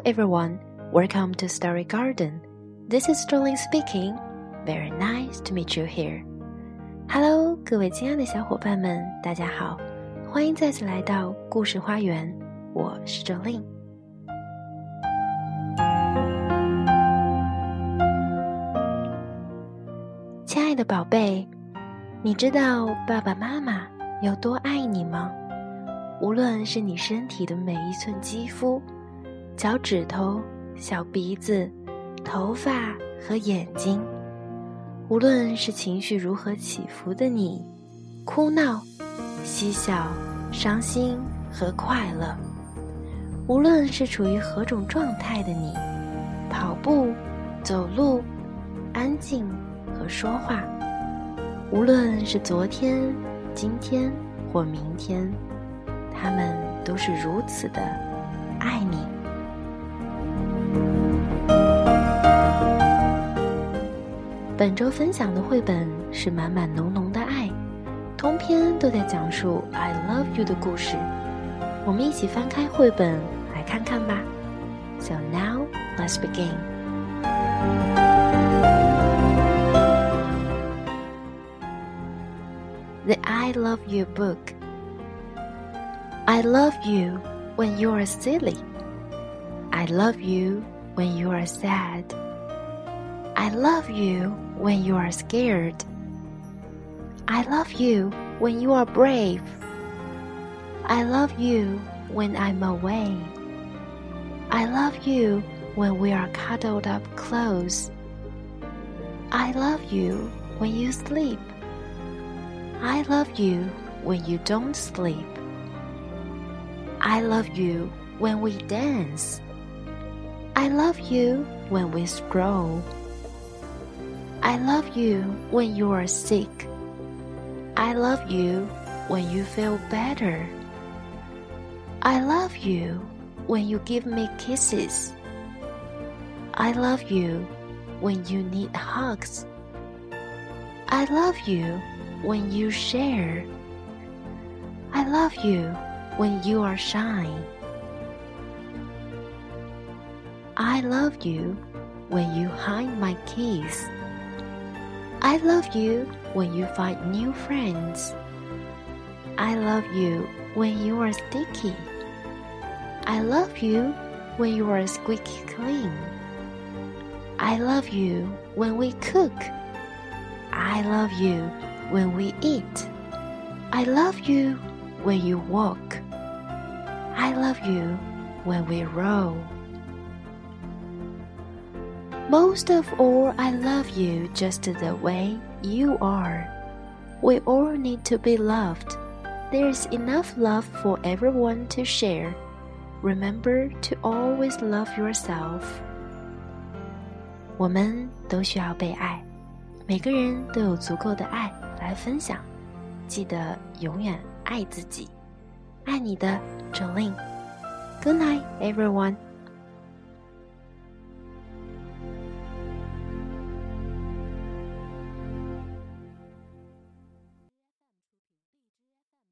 everyone, welcome to Story Garden. This is Sterling speaking. Very nice to meet you here. Hello, 各位亲爱的小伙伴们，大家好，欢迎再次来到故事花园，我是 Sterling。亲爱的宝贝，你知道爸爸妈妈有多爱你吗？无论是你身体的每一寸肌肤、脚趾头、小鼻子、头发和眼睛，无论是情绪如何起伏的你，哭闹、嬉笑、伤心和快乐，无论是处于何种状态的你，跑步、走路、安静和说话，无论是昨天、今天或明天，他们都是如此的爱你。本周分享的绘本是满满浓浓的爱，通篇都在讲述 I love you 的故事。我们一起翻开绘本来看看吧。So now, let's begin. The I Love You book. I love you when you are silly. I love you when you are sad. I love you when you are scared. I love you when you are brave. I love you when I'm away. I love you when we are cuddled up close. I love you when you sleep. I love you when you don't sleep. I love you when we dance. I love you when we stroll. I love you when you are sick. I love you when you feel better. I love you when you give me kisses. I love you when you need hugs. I love you when you share. I love you when you are shy. I love you when you hide my keys. I love you when you find new friends. I love you when you are sticky. I love you when you are squeaky clean. I love you when we cook. I love you when we eat. I love you when you walk. I love you when we roll. Most of all, I love you just the way you are. We all need to be loved. There's enough love for everyone to share. Remember to always love yourself. 我们都需要被爱，每个人都有足够的爱来分享。记得永远爱自己。爱你的 Jolene. Good night, everyone.